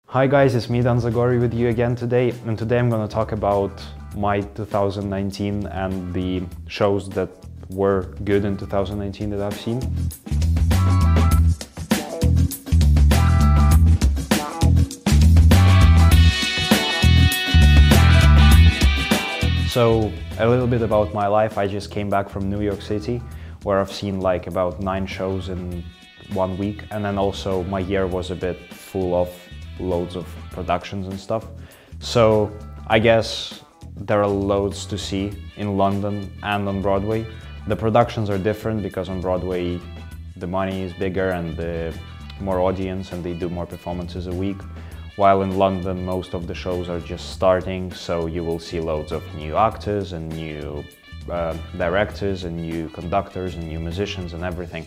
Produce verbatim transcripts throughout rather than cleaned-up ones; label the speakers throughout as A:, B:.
A: Hi guys, it's me Dan Zagori with you again today, and today I'm going to talk about my two thousand nineteen and the shows that were good in two thousand nineteen that I've seen. So a little bit about my life. I just came back from New York City, where I've seen like about nine shows in one week, and then also my year was a bit full of loads of productions and stuff. So I guess there are loads to see in London and on Broadway. The productions are different because on Broadway the money is bigger and the more audience, and they do more performances a week. While in London most of the shows are just starting, so you will see loads of new actors and new uh, directors and new conductors and new musicians and everything.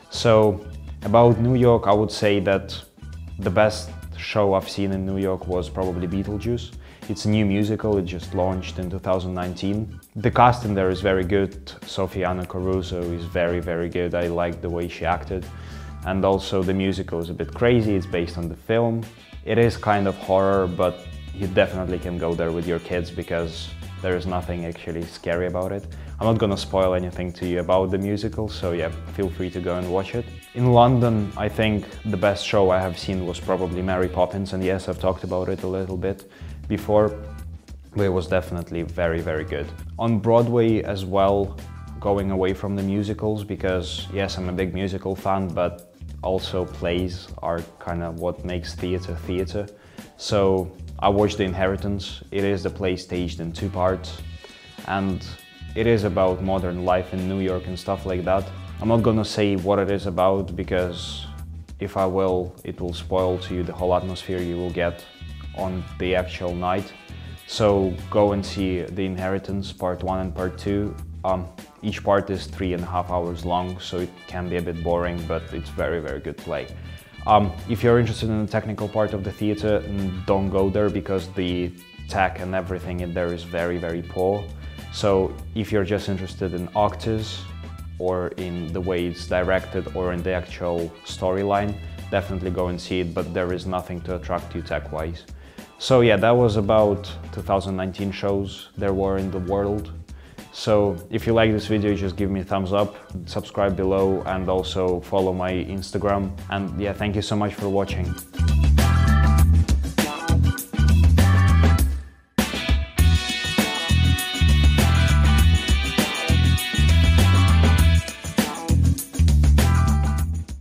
A: So about New York, I would say that the best show I've seen in New York was probably Beetlejuice. It's a new musical, it just launched in two thousand nineteen. The cast in there is very good. Sophiana Caruso is very, very good. I like the way she acted. And also the musical is a bit crazy, it's based on the film. It is kind of horror, but you definitely can go there with your kids because there is nothing actually scary about it. I'm not gonna spoil anything to you about the musical, so yeah, feel free to go and watch it. In London, I think the best show I have seen was probably Mary Poppins, and yes, I've talked about it a little bit before, but it was definitely very, very good. On Broadway as well, going away from the musicals, because yes, I'm a big musical fan, but also plays are kind of what makes theatre theatre. So I watched The Inheritance. It is the play staged in two parts, and it is about modern life in New York and stuff like that. I'm not gonna say what it is about because if I will, it will spoil to you the whole atmosphere you will get on the actual night. So go and see The Inheritance part one and part two. Um, each part is three and a half hours long, so it can be a bit boring, but it's very, very good play. Um, if you're interested in the technical part of the theatre, don't go there because the tech and everything in there is very, very poor. So if you're just interested in actors or in the way it's directed or in the actual storyline, definitely go and see it, but there is nothing to attract you tech-wise. So yeah, that was about two thousand nineteen shows there were in the world. So if you like this video, just give me a thumbs up, subscribe below, and also follow my Instagram. And yeah, thank you so much for watching.